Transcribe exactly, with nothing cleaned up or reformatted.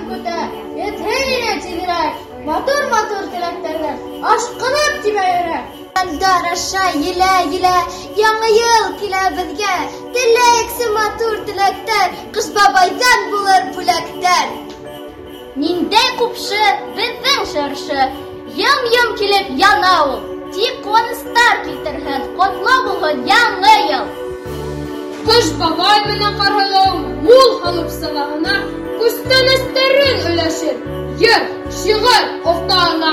башын көтәр, етһейне тигерәк, матур-матур теләктәргә ашкынып тибә йөрәк. Яндар аша елә-елә, яңа ел килә безгә, теләксе матур теләктәр, Кыш бабайдан булыр бүләктәр. Ниндәй купшы, безнең шыршы, йым-йым килеп яна ул, тик куаныстар килтерһен, котлы булһын яңа ел. Кыш бабай менән Ҡарһылыу мул халыҡ сыраһына күстәнәстәрен өләшер, йыр, шиғыр оҫталарына